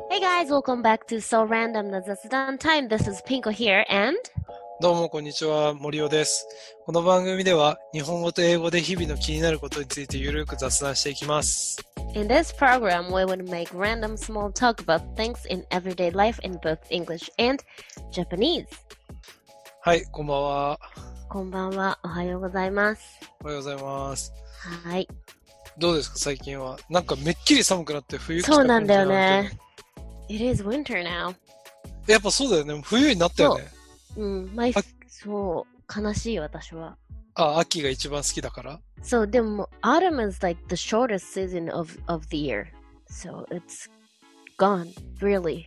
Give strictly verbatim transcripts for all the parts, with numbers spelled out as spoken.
Hey guys, welcome back to So Random な雑談 Time. This is Pinko here and どうもこんにちは、森尾です。この番組では日本語と英語で日々の気になることについてゆるく雑談していきます。 in this program we would make random small talk about things in everyday life in both English and Japanese. はい、こんばんは。 こんばんは。おはようございます。 おはようございます。 はい。 どうですか最近は。なんかめっきり寒くなって冬来たそうなんだよ感じね。It is winter now. やっぱそうだよね。冬になったよね。 うん、マイそう、悲しい私は。 あ、秋が一番好きだから。 そう、でも Autumn is like the shortest season of, of the year. So it's gone really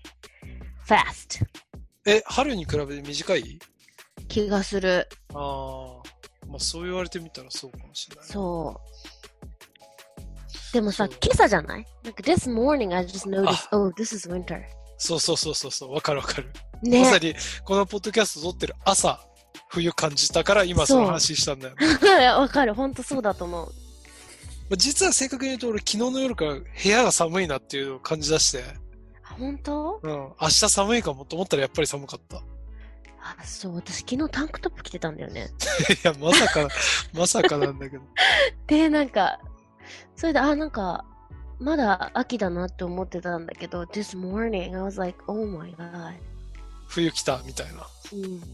fast. え、春に比べて短い？ 気がする。 ああ、まあそう言われてみたらそうかもしれない。 そう。でもさ、今朝じゃない？なんか this morning I just noticed, oh, this is winter. そうそうそうそうそう、わかるわかる。 ね。 まさにこのポッドキャスト撮ってる朝、冬感じたから今その話したんだよね。わかる、ほんとそうだと思う。 実は正確に言うと俺昨日の夜から部屋が寒いなっていう感じ出して。 ほんと？ うん。明日寒いかもと思ったらやっぱり寒かった。 あ、そう、私昨日タンクトップ着てたんだよね。 いや、まさか、まさかなんだけど。 で、なんか、それで、あ、なんか、まだ秋だなって思ってたんだけど、this morning I was like, oh my god. 冬来たみたいな。 うん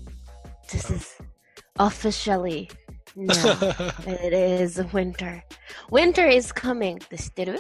。This is officially now. It is winter. Winter is coming. って知ってる？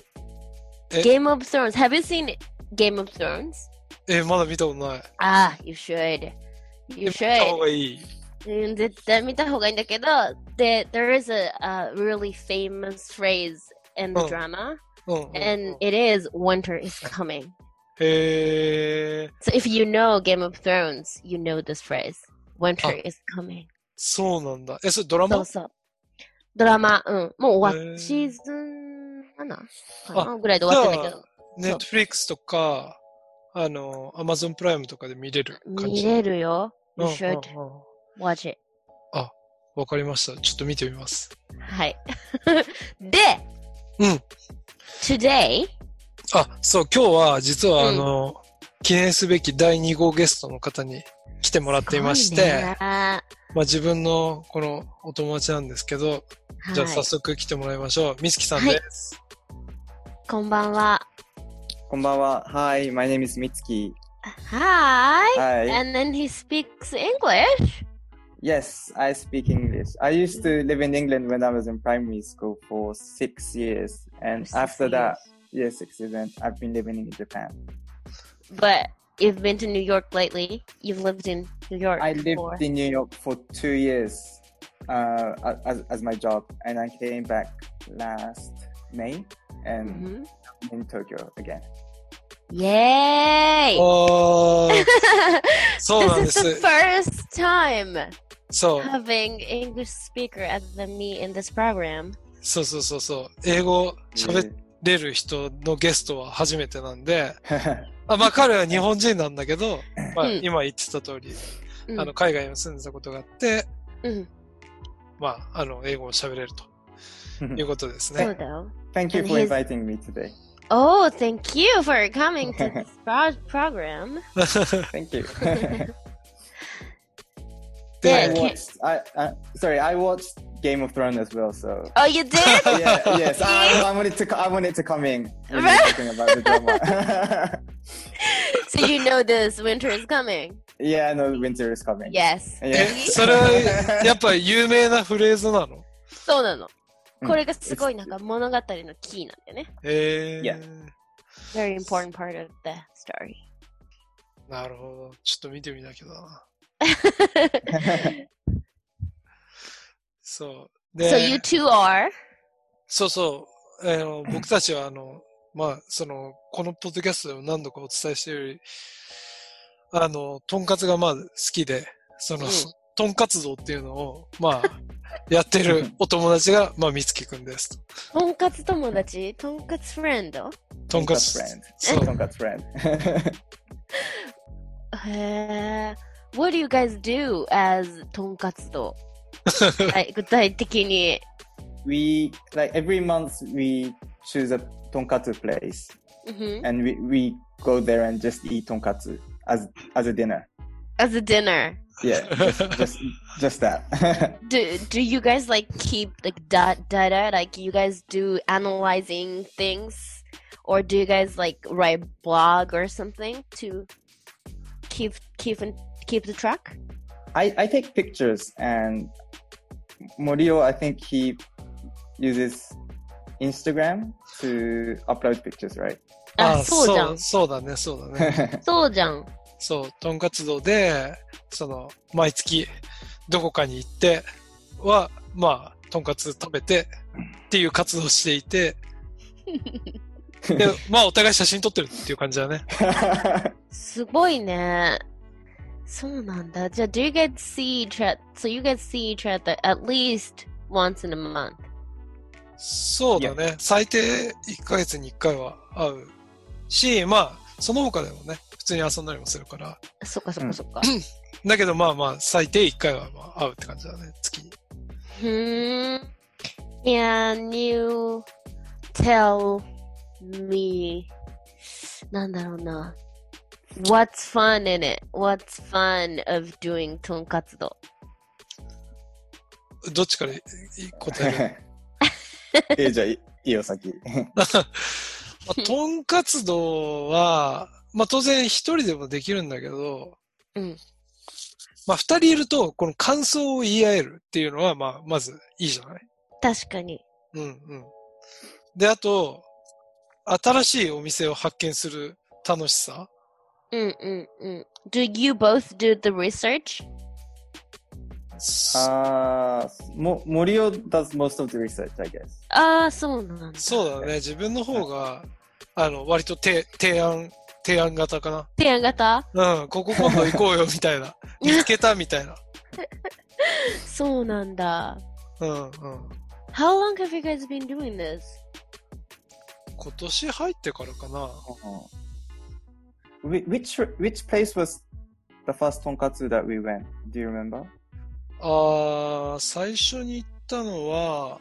Game of Thrones. Have you seen Game of Thrones? え、まだ見たことない。 あ、you should. You should. 見た方がいい。 うん、絶対見た方がいいんだけど、で、there is a, a really famous phrase in the drama, うんうんうん、 and it is winter is coming. へー。 So if you know Game of Thrones, you know this phrase. Winter is coming. そうなんだ。え、それドラマ？ そうそう。ドラマ、うん。もう終わっ、シーズンななかなぐらいで終わってんだけど。 ネットフリックスとか、あの、アマゾンプライムとかで見れる感じ。 見れるよ。You うんうん should うん watch it. あ、わかりました。ちょっと見てみます。 はい。で、 うん。 today? あ、そう、今日は実はあの、うん、記念すべきだいに号ゲストの方に来てもらっていまして、まあ自分のこのお友達なんですけど、はい、じゃあ早速来てもらいましょう。みつきさんです、 はい。こんばんは。 こんばんは。Hi, my name is Mitsuki. Hi. Hi. And then he speaks English? Yes, I speak English. I used to live in England when I was in primary school for six years. And six after years. that, yes, six years, and I've been living in Japan. But you've been to New York lately? You've lived in New York I lived for... in New York for two years uh, as, as my job. And I came back last May and mm-hmm. I'm in Tokyo again. Yay! Oh, this is the first time so, having English speaker other than me in this program. そうそうそうそう。英語喋れる人のゲストは初めてなんで、あまあ彼は日本人なんだけど、まあ、今言ってた通り、うん、あの海外に住んでたことがあって、うん、まああの英語を喋れるということですね。 そうだよ。 Thank you for inviting me today. Oh, thank you for coming to this pro- program. Thank you. I watched, I, uh, sorry, I watched Game of Thrones as well, so. Oh, you did? Yeah, yes. I, I wanted to, I wanted to come in when you're talking about the drama. So you know this winter is coming? Yeah, I know winter is coming. Yes. Yeah. それはやっぱり有名なフレーズなの？ そうなの。これがすごいなんか物語のキーなんだよね。 へー。 Yeah. Very important part of the story. なるほど。ちょっと見てみなきゃだな。そう。で、 So you two are? そうそう。あの僕たちはあの、まあ、その、このポッドキャストでも何度かお伝えしているより、あの、とんかつがまあ好きで、その、うん、とんかつ道っていうのを、まあ、やってるお友達が、まあ、みつきくんです。 とんかつ友達？とんかつフレンド？ とんかつ。 そう。とんかつフレンド。 へー。What do you guys do as とんかつ道？はい、具体的に。 We, like every month we choose a tonkatsu place, mm-hmm. and we we go there and just eat tonkatsu as as a dinner. As a dinner. Yeah, just just, just that. do do you guys like keep like data data? Like you guys do analyzing things, or do you guys like write blog or something to keep keep and keep the track? I I take pictures, and Morio, I think he uses Instagram to upload pictures, right? あ、そうじゃん。 そうだね、そうだね。 そうじゃん。 そう、とんかつ道で、その、毎月、どこかに行っては、まあ、とんかつ食べて、っていう活動をしていて、で、まあ、お互い写真撮ってるっていう感じだね。 すごいね。そうなんだ。じゃあ、do you guys see each other, so you guys see each other at least once in a month? そうだね。最低いっかげつにいっかいは会うし、まあ、その他でもね、普通に遊んだりもするから。 そっかそっかそっか。 だけどまあまあ、最低いっかいはまあ会うって感じだね、月に。 ふーん。Can you tell me なんだろうな。What's fun in it? What's fun of doing とんかつ道? どっちから答えるえ、じゃあいいよ、先。 とんかつ道は、まあ当然一人でもできるんだけど、 うん、 まあ二人いると、この感想を言い合えるっていうのは、まあまずいいじゃない？ 確かに。 うんうん。で、あと、新しいお店を発見する楽しさ。 うんうんうん。Do you both do the research? あー、も、森尾 does most of the research, I guess. ああ、そうなんだ。 そうだね。自分の方が、あの、割と提提案、提案型かな。 提案型？ うん、ここ今度行こうよ、みたいな。見つけた、みたいな。 そうなんだ。 うんうん。 How long have you guys been doing this? 今年入ってからかな。 Which, which place was the first tonkatsu that we went? Do you remember? あー、最初に行ったのは、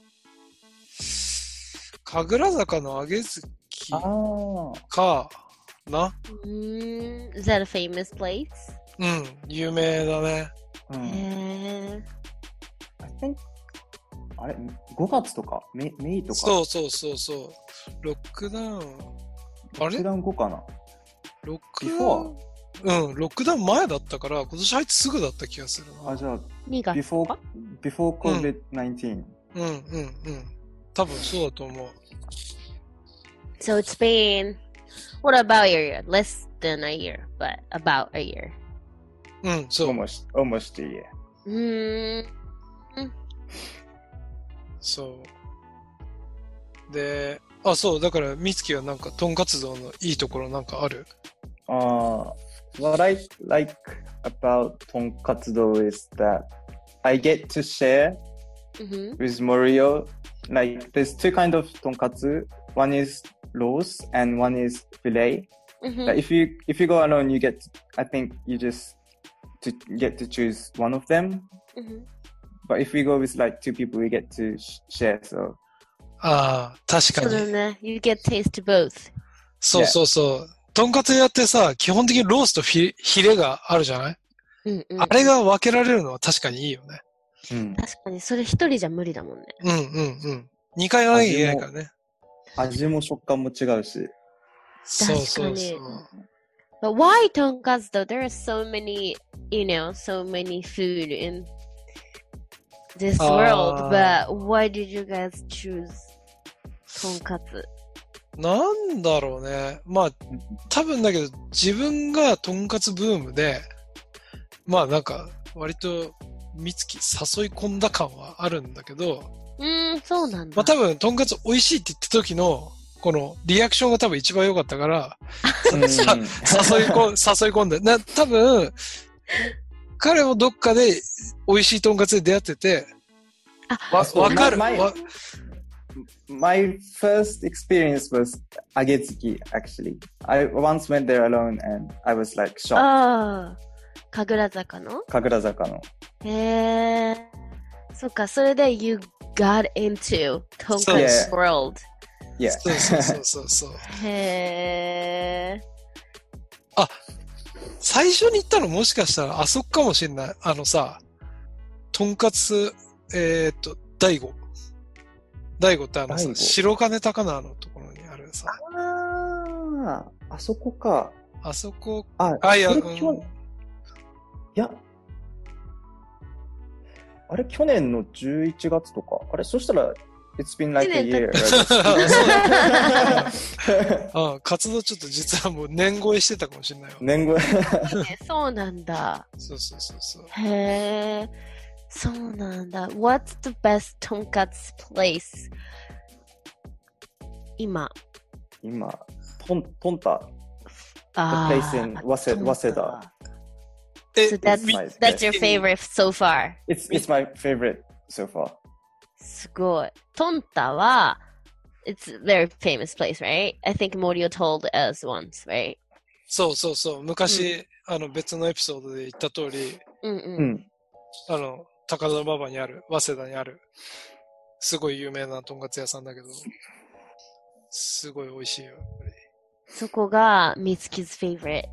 神楽坂の揚げ月かな。 Mm, is that a famous place? うん、有名だね。 うん、 へー。 I think あれごがつとかメイとか。 そうそうそうそう。ロックダウン。あれ？ ロックダウン後かな。 ロックダウン。うん、ロックダウン前だったから、今年入ってすぐだった気がするな。 あ、じゃあ、 にがつ before, before コビドナインティーン、 うん。うんうんうん。多分そうだと思う。 So it's been, what about a year? Less than a year, but about a year. うん、そう。 almost, almost a year. うーん。 そう。で、あ、そう、だから、みつきはなんか、とんかつ道のいいところなんかある？ Uh, what I like about tonkatsu is that I get to share mm-hmm. with Morio. Like, there's two kind of tonkatsu. One is roast and one is fillet. Mm-hmm. Like if you if you go alone, you get to, I think you just to get to choose one of them. Mm-hmm. But if we go with like two people, we get to sh- share. So. ああ、確かに。 そうだね。You get taste both. そうそうそう。とんかつ屋ってさ、基本的にロースとフィヒレがあるじゃない？ うんうん、 あれが分けられるのは確かにいいよね。 うん、 確かに、それ一人じゃ無理だもんね。 うんうんうん。二回やらなきゃいけないからね。 味も食感も違うし。 そうそうそう。 But why tonkatsu though? There are so many, you know, so many food in this world. But why did you guys choose とんかつ？ なんだろうね。まあ、多分だけど、自分がとんかつブームで、まあなんか、割と、みつき誘い込んだ感はあるんだけど、 うーん、そうなんだ。 まあ多分、とんかつ美味しいって言った時の、このリアクションが多分一番良かったから、誘い込ん、誘い込んで、な、多分、彼もどっかで美味しいとんかつで出会ってて、 あ、 わ、わかる。わ My first experience was Agetsuki, actually. I once went there alone and I was like shocked. ああ、神楽坂の？ 神楽坂の。 へえ。そっか、それで you got into とんかつ world. Yeah. そうそうそうそうそう。 へー。 あ、最初に行ったのもしかしたらあそこかもしれない。あのさ、とんかつ、えー、っと、大悟。大悟ってあのさ、白金高輪のところにあるさ。 ああ、あそこか。 あそこ、 あ、 あ、いや、うん、 いや、あれ、去年のじゅういちがつとか。あれ、そしたら、It's been like a year. ああ、活動ちょっと実はもう年越えしてたかもしれないわ。 年越えそうなんだ。 そうそうそうそう。 へえ、そうなんだ。What's the best とんかつ place? 今。 今、トン、トンタ。 あ The place in 早稲早稲田。 So that's, that's your favorite so far? It's, it's my favorite so far. すごい。トンタは、it's a very famous place, right? I think Morio told us once, right? そうそうそう。昔、うん、あの別のエピソードで言った通り、 うんうん、 あの、高田馬場にある、早稲田にある、すごい有名なとんかつ屋さんだけど、すごい美味しいよ、やっぱり。 そこが、Mitsuki's favorite.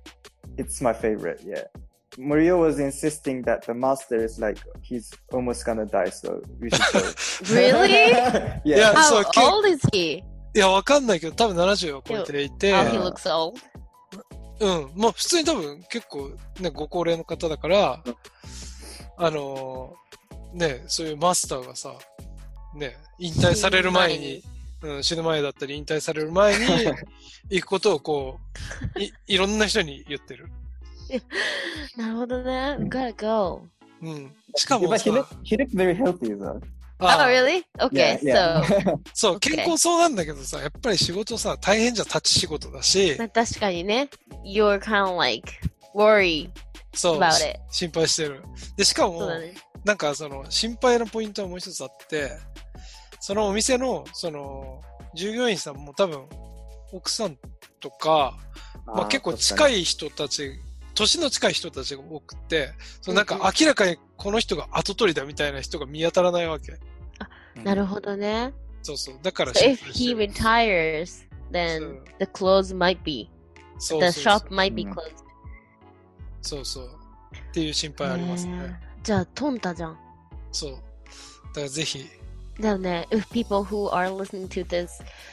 It's my favorite, yeah. Morio was insisting that the master is like, he's almost gonna die, so we should go. Really? Yeah. How old is he? いや、わかんないけど、多分ななじゅうを超えていて。 Oh, he looks old? うん。まあ、普通に多分結構ね、ご高齢の方だから、あのー、ね、そういうマスターがさ、ね、引退される前に、うん、死ぬ前だったり引退される前に行くことをこう、い、いろんな人に言ってる。 なるほどね。Gotta go. うん。しかもさ、 he looked, he looked very healthy though. Oh, really? Okay, yeah, yeah. so. そう、健康そうなんだけどさ、やっぱり仕事さ、大変じゃん、立ち仕事だし。 確かにね。You're kind of like worried about it. 心配してる。で、しかも、ね、なんかその、心配なポイントはもう一つあって、そのお店の、その、従業員さんも多分、奥さんとか、まあ結構近い人たち、年の近い人たちが多くて、そのなんか明らかにこの人が後取りだみたいな人が見当たらないわけ。 あ、なるほどね。 そうそう。だから、 so if he retires, then the clothes might be, the shop might be closed. そうそう。っていう心配ありますね。 じゃあ、トンタじゃん。 そう。だからぜひ。 だよね。If people who are listening to this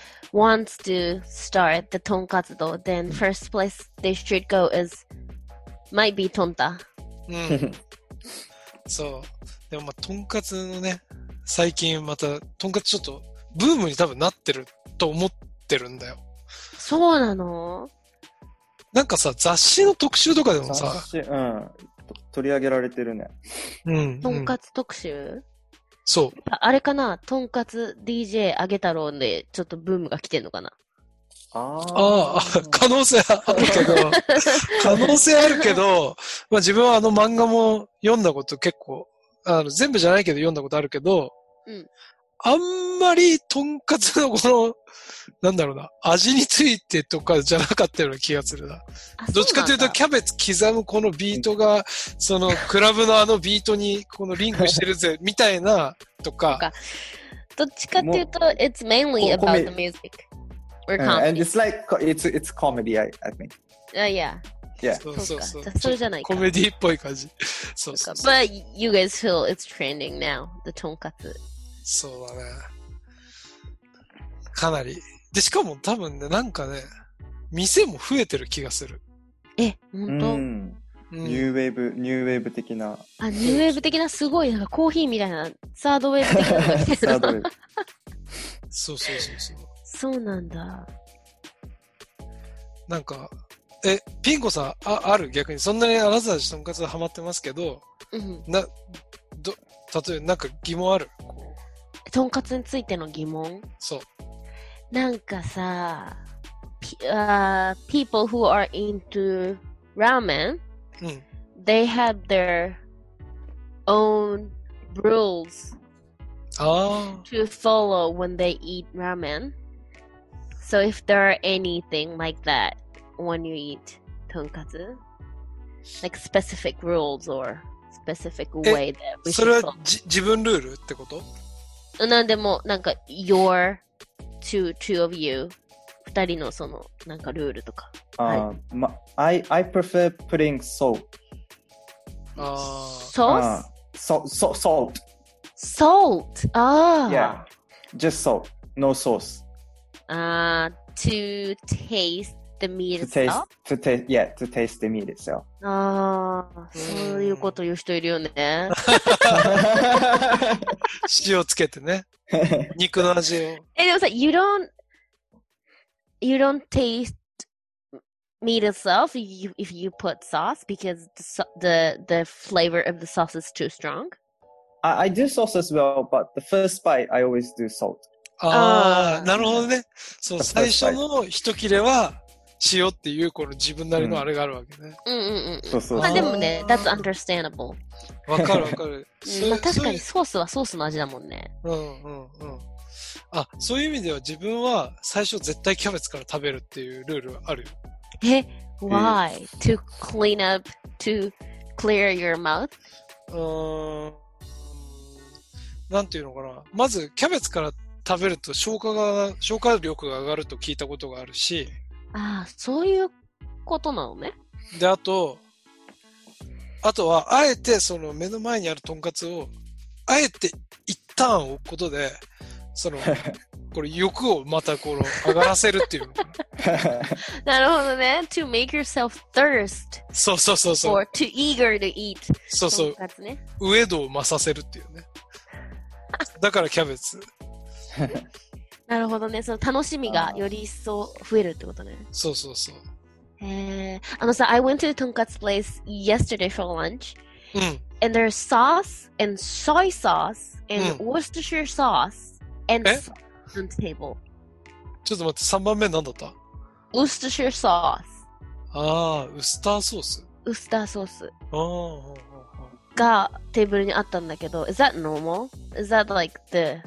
wants to start the とんかつ道, then first place they should go is might be トンタ。 うん。そう。でもまあ、とんかつのね、最近また、とんかつちょっと、ブームに多分なってると思ってるんだよ。 そうなの？ なんかさ、雑誌の特集とかでもさ、 雑誌、うん。取り上げられてるね。 うん。 とんかつ特集？ そう。 あ、あれかな、とんかつ ディージェー あげ太郎でちょっとブームが来てんのかな。 ああ、可能性あるけど、可能性あるけど、まあ自分はあの漫画も読んだこと結構、あの全部じゃないけど読んだことあるけど、 うん、 あんまりとんかつのこの、なんだろうな、味についてとかじゃなかったような気がするな。どっちかというとキャベツ刻むこのビートが、そのクラブのあのビートにこのリンクしてるぜ、みたいなとか。 どっちかっていうと、it's mainly about the music.Or comedy. And it's like, it's, it's comedy, I, I think. Uh, yeah. Yeah. そうそうそう。 それじゃないか。 コメディっぽい感じ。そうそうそう。 But you guys feel it's trending now, the とんかつ。 そうだね。かなり。で、しかも多分ね、なんかね、店も増えてる気がする。 え、ほんと？ うん。ニューウェーブ、ニューウェーブ的な。 あ、ニューウェーブ的なすごい、なんかコーヒーみたいな、サードウェーブ的なのが来てる。サードウェーブ。 そうそうそうそう。 そうなんだ。 なんか、え、ピン子さん、あ、ある逆に、そんなにあなたたちとんかつハマってますけど、 うん、 な、ど、例えばなんか疑問ある？ とんかつについての疑問？ そう。 なんかさ、uh, people who are into ramen, うん、 they have their own rules to follow when they eat ramen. So if there are anything like that when you eat とんかつ like specific rules or specific way that we should follow. それはじ自分ルールってこと？ なんでも、なんか your two, two of you 二人のそのなんかルールとか。 Uh, はい、 ma- I, I prefer putting salt. あー。sauce? Uh, so, so, salt. Salt. ああ。 Yeah. Just salt. No sauce. ああ、to taste the meat To taste, itself? to taste, yeah, to taste the meat itself. ああ、そういうこと言う人いるよね。 塩つけてね。肉の味を。 え、でもさ、you don't, you don't taste meat itself if you, if you put sauce because the, so- the, the flavor of the sauce is too strong? I, I do sauce as well, but the first bite, I always do salt. ああ、 あーなるほどね。そう、最初の一切れは塩っていうこの自分なりのあれがあるわけね。 うんうんうん。 そうそうそう。 まあでもね、that's understandable。 わかるわかる。 うんまあ確かにソースはソースの味だもんね。 うんうんうん。あ、そういう意味では自分は最初絶対キャベツから食べるっていうルールあるよ。 え、why? To clean up, to clear your mouth? うーん。なんていうのかな。まずキャベツから食べると消化が、消化力が上がると聞いたことがあるし。 ああ、そういうことなのね。 で、あと、あとは、あえてその目の前にあるとんかつを、あえて一旦置くことで、その、これ欲をまたこの上がらせるっていうのかな。 なるほどね。To make yourself thirst そうそうそうそう。 or too eager to eat. そうそう。 とんかつね。 ウエ度を増させるっていうね。だからキャベツ。 なるほどね。その楽しみがより一層増えるってことね。 そうそうそう。 へえ。あのさ、I went to the とんかつ place yesterday for lunch. うん。 And there's sauce and soy sauce and Worcestershire sauce and え sauce on the table. ちょっと待って、さんばんめ何だった Worcestershire sauce. ああ、ウスターソース。 ウスターソースああ、 がテーブルにあったんだけど、is that normal? Is that like the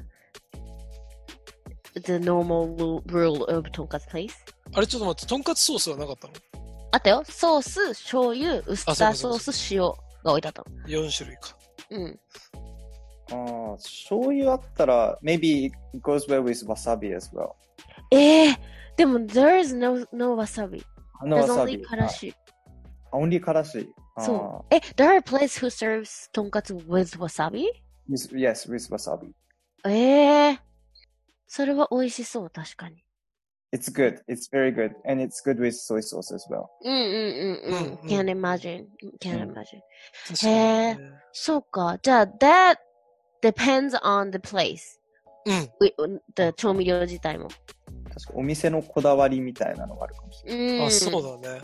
the normal rule of とんかつ place? あれちょっと待って、とんかつソースはなかったの？ あったよ。ソース、醤油、ウスターソース、塩が置いてあったの。 よん種類か。 うん。 ああ、醤油あったら、maybe it goes well with wasabi as well. ええー、でも there is no no wasabi. No There's wasabi. only からし。 Only からし。 そう。え、there are places who serves とんかつ with wasabi? With, yes, with wasabi. ええー。それは美味しそう、確かに。 It's good. It's very good. And it's good with soy sauce as well. うんうんうんうん。Can't imagine. Can't imagine. へえ、そうか。じゃあ、that depends on the place. うん。 the 調味料自体も。 確かお店のこだわりみたいなのがあるかもしれない。 あ、そうだね。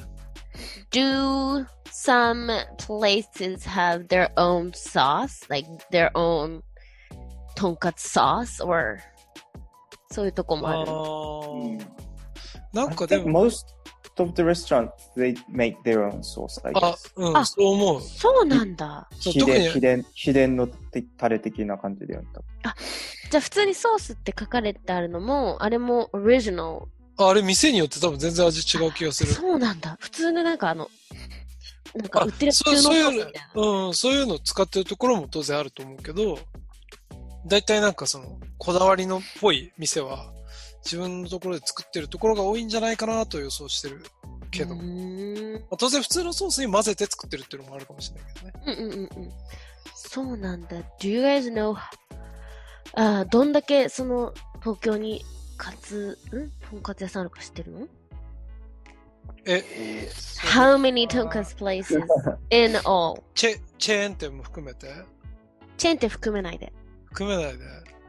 Do some places have their own sauce? Like their own とんかつ sauce? Or そういうとこもある。 うんなんかでも。 Most of the restaurants, they make their own sauce, I guess. あ、うん、あ、そう思う。 そうなんだ。 秘伝、秘伝、秘伝のタレ的な感じでやった。 あ、じゃあ普通にソースって書かれてあるのも、あれもオリジナル。 あ、あれ店によって多分全然味違う気がする。 そうなんだ。普通のなんかあの、なんか売ってる普通のソースみたいな。 うん、そういうのを使ってるところも当然あると思うけど、だいたいなんかその、こだわりのっぽい店は、自分のところで作ってるところが多いんじゃないかなと予想してるけど、まあ、当然普通のソースに混ぜて作ってるっていうのもあるかもしれないけどね。 うんうんうんうん。そうなんだ。Do you guys know あどんだけその東京にカツ、んとんかつ屋さんあるか知ってるの？ え、 How many とんかつ places in all? チェ、チェーン店も含めて？ チェーン店含めないで。 含めないで。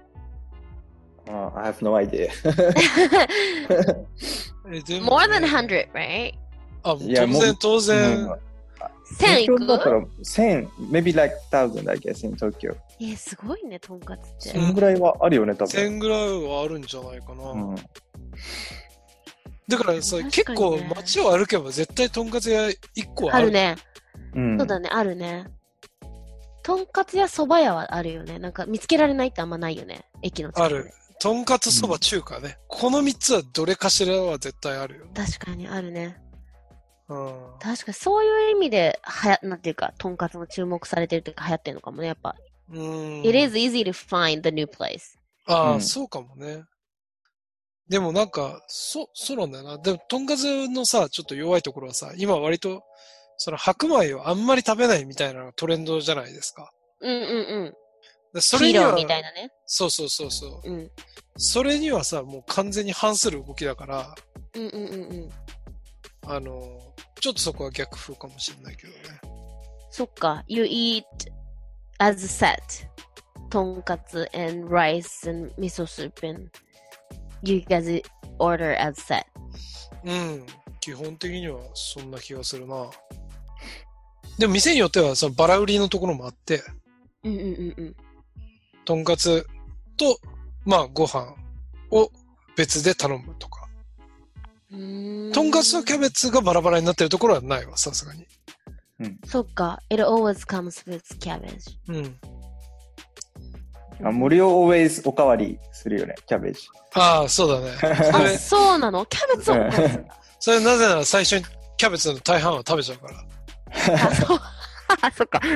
Uh, I have no idea. More than one hundred, right? あ、当然、当然。 千いく？ 千、maybe like thousand, I guess, in Tokyo. え、すごいね、とんかつって。 千ぐらいはあるよね、多分。 千ぐらいはあるんじゃないかな。うん、だからさ、結構街を歩けば絶対とんかつ屋いっこはある。 あるね。 うん、 そうだね、あるね。とんかつやそば屋はあるよね。なんか見つけられないってあんまないよね。駅の近くで。ある。 とんかつそば中華ね、うん。このみっつはどれかしらは絶対あるよ。 確かにあるね。 うん。 確かにそういう意味で、はや、なんていうか、とんかつも注目されてるというか流行ってるのかもね、やっぱ。 うん。 It is easy to find the new place. ああ、うん、そうかもね。 でもなんか、そ、そうなんだよな。でも、とんかつのさ、ちょっと弱いところはさ、今割と、その白米をあんまり食べないみたいなのがトレンドじゃないですか。 うんうんうん。 でそれには、 みたいなね。 そうそうそうそう、 うん。 それにはさ、もう完全に反する動きだから、 うんうんうんうん。 あの、ちょっとそこは逆風かもしれないけどね。 そっか。You eat as a set. とんかつ and rice and 味噌スープ and you guys order as set. うん。基本的にはそんな気がするな。でも店によってはそのバラ売りのところもあって、 うんうんうんうん。 とんかつと、まあご飯を別で頼むとか。 うーんとんかつとキャベツがバラバラになってるところはないわ、さすがに。 うん。 そっか。It always comes with cabbage. うん。 あ、森尾 always おかわりするよね、キャベジ。 ああ、そうだね。そあ、 れ、 そうなの？キャベツをおかず。 それなぜなら最初にキャベツの大半は食べちゃうから。 あ、そう。あ、そっか。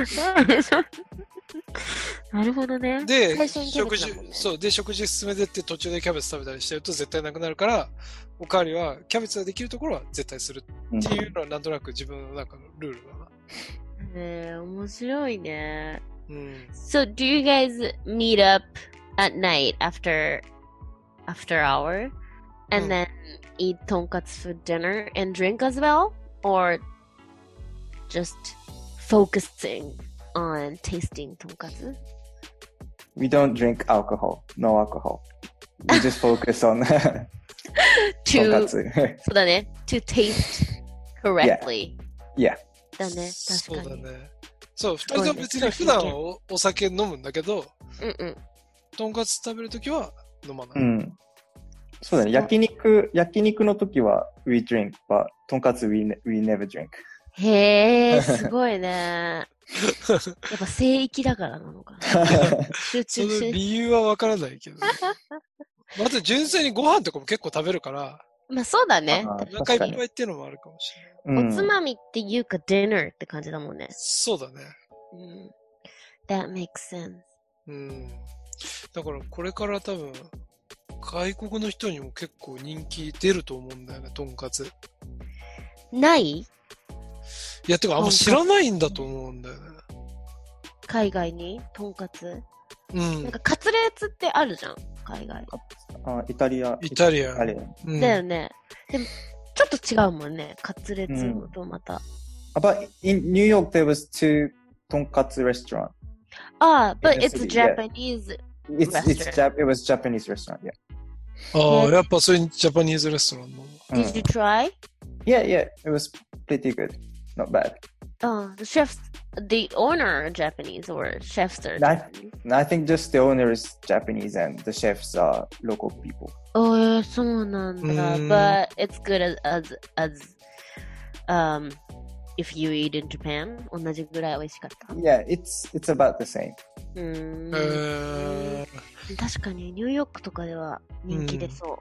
なるほどね。 で、 最初にキャベ食事、 ツだもんねそう、で、食事進めてって途中でキャベツ食べたりしてると絶対なくなるから、おかわりはキャベツができるところは絶対するっていうのはなんとなく自分の中のルールだな。 ねえ、面白いね。 うん。 So, do you guys meet up at night after after hour and うん then eat tonkatsu for dinner and drink as well? Or just focusing on tasting tonkatsu? We don't drink alcohol. No alcohol. We just focus on とんか To, つ。 そうだね。To taste correctly. Yeah. だね。 そう確かに。 だね。そう、二人とも別に普段はおお酒飲むんだけど、 うんうん。 とんかつ食べるときは飲まない。 うん。そうだね。焼肉、焼肉の時は we drink, but とんかつ we, ne- we never drink. へえ、すごいね。やっぱ聖域だからなのかな。集その中し理由はわからないけど、ね。また純粋にご飯とかも結構食べるから、 まあそうだね。 あーお腹いっぱいっていうのもあるかもしれない。 うんおつまみっていうか、ディナーって感じだもんね。 そうだね。 うん。That makes sense. うん。だからこれから多分、外国の人にも結構人気出ると思うんだよね、とんかつ。 ないいや、てかあんま知らないんだと思うんだよね。 海外にとんかつ、 うんなんか。カツレツってあるじゃん海外。 あ、イタリア。 イタリアンイタリアン。 うん、 だよね。でも、ちょっと違うもんね。カツレツとまた。 But in New York, there was two とんかつ restaurants. ああ、but In the it's city, yeah. Japanese. It's, it's Restaurant. Jap- it was Japanese restaurant, yeah. ああ、 ねやっぱそういうジャパニーズレストランの。 Did you try? Yeah, yeah, it was pretty good. Not bad. Oh, the chefs, the owner are Japanese or chefs are Nice. Japanese? I think just the owner is Japanese and the chefs are local people. Oh, そうなんだ。 うん But it's good as, as, as, um, if you eat in Japan. 同じぐらい美味しかった。 Yeah, it's it's about the same. うーん。 え確かにニューヨークとかでは人気出そう。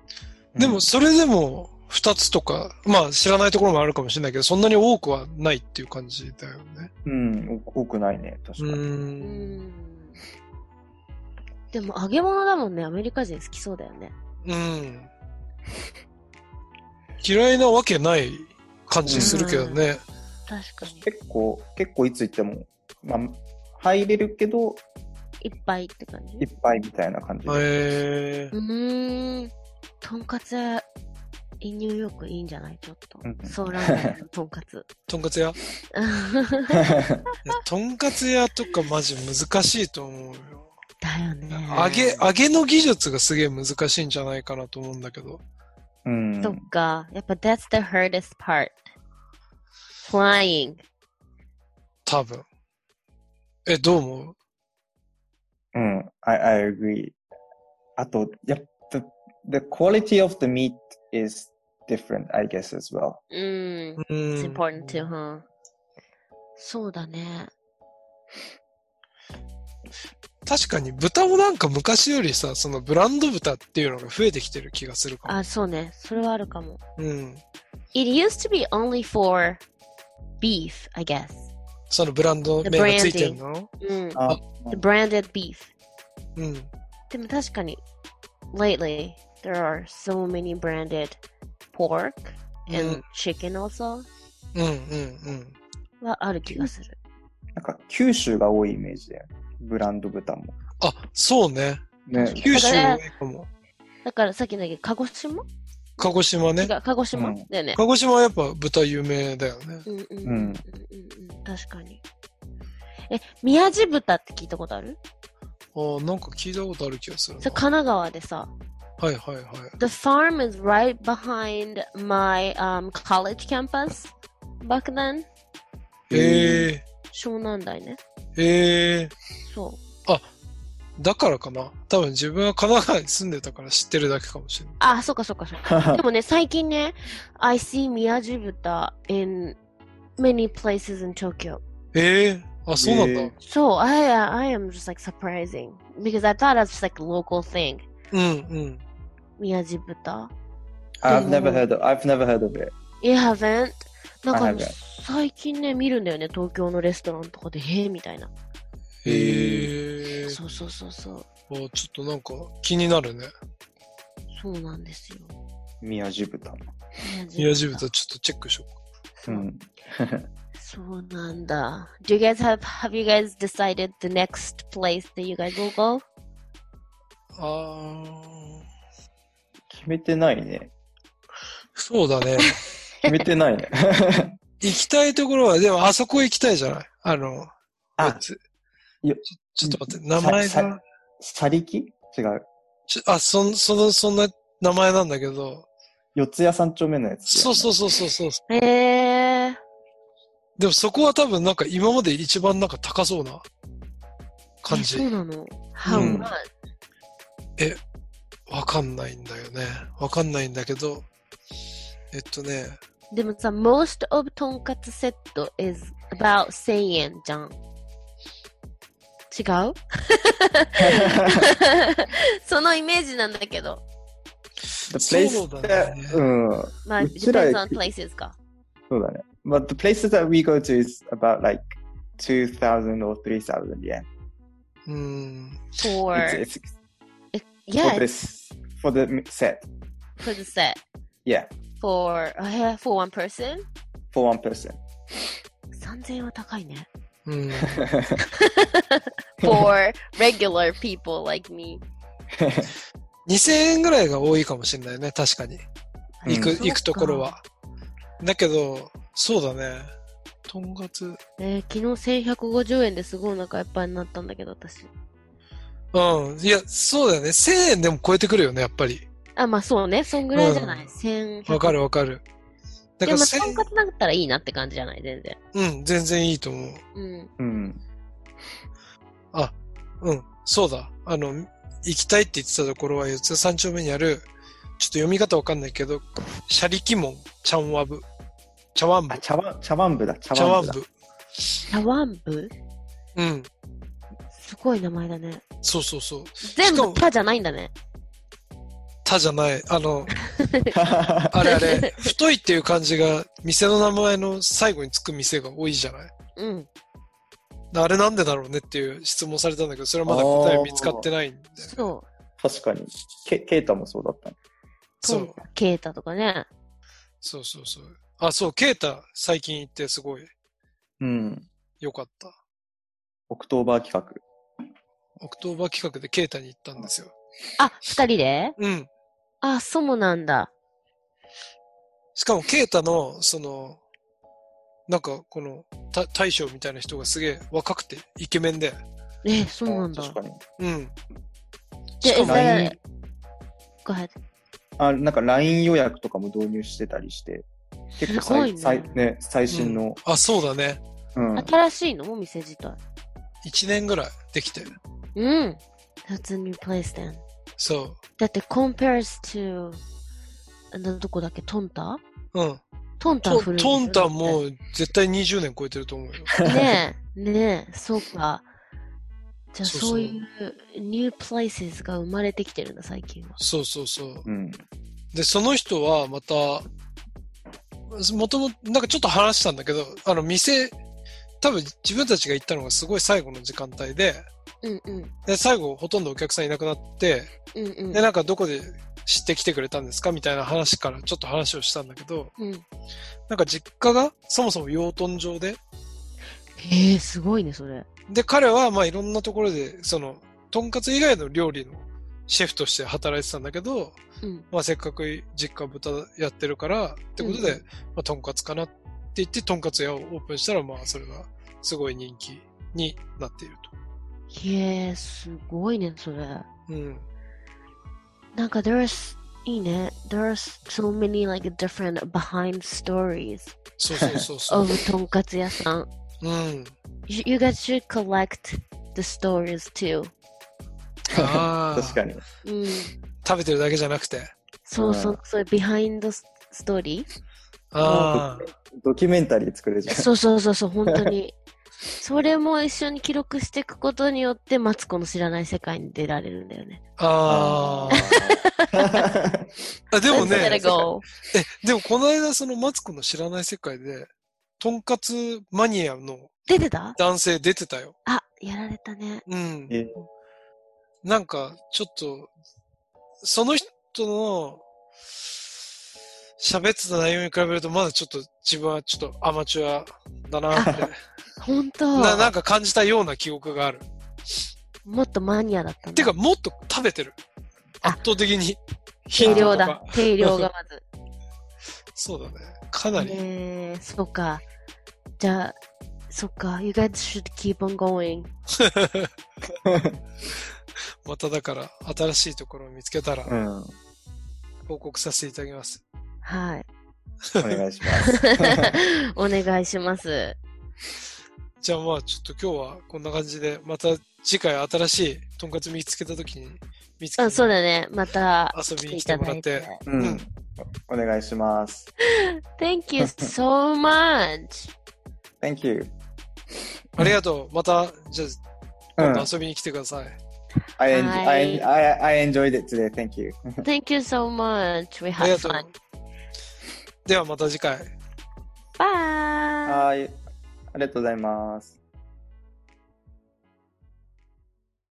ー、でもそれでも二つとか、まあ知らないところもあるかもしれないけど、そんなに多くはないっていう感じだよね。 うん、お多くないね、確うかに。 うーん。 ん。でも揚げ物だもんね。アメリカ人好きそうだよね。 うん。嫌いなわけない感じするけどね。 確かに。 結構、結構いつ行っても、まあ、入れるけど、 いっぱいって感じ。 いっぱいみたいな感じで。 へえうーん。とんかつ屋、ニューヨークいいんじゃないちょっとうん。 ソーラーメンのとんかつ。 とんかつ屋いやとんかつ屋とかマジ難しいと思うよ。 だよね。 揚げ、揚げの技術がすげえ難しいんじゃないかなと思うんだけど。 うん。 そっか。やっぱ that's the hardest part. Flying. 多分。え、どう思う？ うん、I, I agree. あと、やっぱ、the, the quality of the meat is different, I guess, as well. うん。 う It's ん important too, huh? そうだね。 確かに豚もなんか昔よりさ、そのブランド豚っていうのが増えてきてる気がするかも。 あ、そうね。それはあるかも。 うん。 It used to be only for beef, I guess. そのブランド名がついてるの？ うん。 あ、 The branded beef. うん。 でも確かに、lately, there are so many branded pork and、うん、chicken also. うんうんうん。 はある気がする。 なんか九州が多いイメージで、ブランド豚も。 あ、そうね。ね、九州多いかも。 だからさっきの鹿児島？ 鹿児島ね。 鹿児島、うん、だよね。 鹿児島はやっぱ豚有名だよね。 うんうんうんうん、うん、確かに。え、宮地豚って聞いたことある？ ああ、なんか聞いたことある気がするな。 それ神奈川でさ。 はいはいはい。 The farm is right behind my、um, college campus back then. へえ。 湘南台ね。 へえ。 そう。 あ、だからかな。多分自分は神奈川に住んでたから知ってるだけかもしれない。 あ、そっかそっかそっか。でもね、最近ね、I see 宮地豚 in many places in Tokyo. へえ。あ、そうなんだ。 そう、I, I am just like surprising. Because I thought it's like a local thing. うんうん。 宮地豚。 I've never heard of, I've never heard of it. You haven't? なんか最近ね、見るんだよね、東京のレストランとかで、へえみたいな。 へえ。 そうそうそうそう。 あ、ちょっとなんか気になるね。 そうなんですよ。 宮地豚。 宮地豚ちょっとチェックしよう。 うん。 そうなんだ。Do you guys have, have you guys decided the next place that you guys will go? あー。決めてないね。 そうだね。 決めてないね。 行きたいところは、でもあそこ行きたいじゃない？あの、 あ、 ちょ、ちょっと待って、名前が。 さりき？違う。 ちょあ、そん、その、そんな名前なんだけど。 四谷三丁目のやつ、 ね。そうそうそうそうそう。 へー。 でもそこは多分なんか今まで一番なんか高そうな感じ。 そうなの？ How much？、うん、 え、わかんないんだよね。わかんないんだけど、えっとね。 でもさ、most of とんかつセット is about せんえんじゃん。違う？そのイメージなんだけど。 そうだね。 うん。 まあ、depends on places か。 そうだね。But the places that we go to is about like two thousand or three thousand yen. うん。 For, it's, it's, yeah, for this, for the set. For the set. Yeah. For, uh, for one person? For one person. さんぜんえんは高いね。 うん。 For regular people like me. にせんえんぐらいが多いかもしれないね、確かに。行く、うん、行くところは。だけど、そうだね。とんかつ。 えー、昨日せんひゃくごじゅうえんですごいお腹いっぱいになったんだけど、私。 うん。いや、そうだよね。せんえんでも超えてくるよね、やっぱり。 あ、まあそうね。そんぐらいじゃない。うん、せんひゃく。 わかるわかる。 だから、でも、とんかつだったらいいなって感じじゃない、全然。 うん、全然いいと思う。 うん。 うん。 あ、うん、そうだ。あの、行きたいって言ってたところは、四谷三丁目にある、ちょっと読み方わかんないけど、シャリキモン、チャンワブ。茶碗部。 茶碗、茶碗部だ、 茶碗部。 茶碗部？ うん。 すごい名前だね。 そうそうそう。 全部タじゃないんだね。 タじゃない。あの、あれあれ、太いっていう感じが、店の名前の最後につく店が多いじゃない？ うん。 あれなんでだろうねっていう質問されたんだけど、それはまだ答え見つかってないんで。 そう。 確かに。ケ、ケータもそうだった。 そう。 ケータとかね。 そうそうそう。あ、そう、ケータ最近行ってすごい。 うん。 よかった。 オクトーバー企画。 オクトーバー企画でケータに行ったんですよ。 あ、二人で？ うん。 あ、そうなんだ。 しかもケータの、その、なんかこの、た大将みたいな人がすげえ若くてイケメンで。 え、そうなんだ。 確かに。 うん。 しかも、え、Go ahead。 あ、なんか ライン 予約とかも導入してたりして、結構最、最、ね、最新の、 うん。あ、そうだね。 うん。 新しいのお店自体。 一年ぐらいできて。 うん。That's a new place then. そう。 だって compares to どこだっけトンタ？ うん。 トンタ古い。 トンタもう絶対にじゅうねん超えてると思うよ。 ねえ、ねえ、そうか。じゃあそういうニュープレイスが生まれてきてるんだ最近は。 そうそうそう。 うん、 で、その人はまた、もともと、なんかちょっと話したんだけど、あの店、多分自分たちが行ったのがすごい最後の時間帯で、 うんうん。 で、最後ほとんどお客さんいなくなって、 うんうん。 で、なんかどこで知ってきてくれたんですかみたいな話からちょっと話をしたんだけど、 うん。 なんか実家がそもそも養豚場で、 へえ、すごいね、それ。 で、彼はまあいろんなところで、その、とんかつ以外の料理のシェフとして働いてたんだけど、 うん。 まあせっかく実家豚やってるから、ってことで、 うんうん、 まあとんかつかなって言って、とんかつ屋をオープンしたら、まあそれがすごい人気になっていると。へえ、すごいね、それ。 うん。 なんか、there's, いいね。There's so many like different behind stories. そうそうそうそう。 of とんかつ屋さん。 うん。 You, you guys should collect the stories too. ああ。 確かに。 うん。 食べてるだけじゃなくて。 そうそう、そういう behind the story? ああ。 ドキュメンタリー作るじゃん。 そうそうそうそう、本当に。それも一緒に記録していくことによって、マツコの知らない世界に出られるんだよね。 ああ。でもね、え、でもこの間そのマツコの知らない世界で、とんかつマニアの出てた男性出てたよ。 あ、やられたね。 うん。なんか、ちょっと、その人の喋ってた内容に比べると、まだちょっと自分はちょっとアマチュアだなって。 本当な、なんか感じたような記憶がある。 もっとマニアだったんだ。 てか、もっと食べてる。圧倒的に。 定量だ。定量がまず。 そうだね。かなり。 えー、そうか。じゃあ、そっか。You guys should keep on going. まただから、新しいところを見つけたら、 うん、 報告させていただきます。 はい。 お願いします。 お願いします。 じゃあまあちょっと今日はこんな感じで、また次回新しいとんかつ見つけたときに見つけて、 うん、そうだね。また遊びに来てもらって。 うん。お願いします。 Thank you so much. Thank you. ありがとう。また、じゃあ、今度遊びに来てください。 I, enjoy, I, I, I enjoyed it today. Thank you. Thank you so much. We had fun. ではまた次回。 バイ。 はい。ありがとうございます。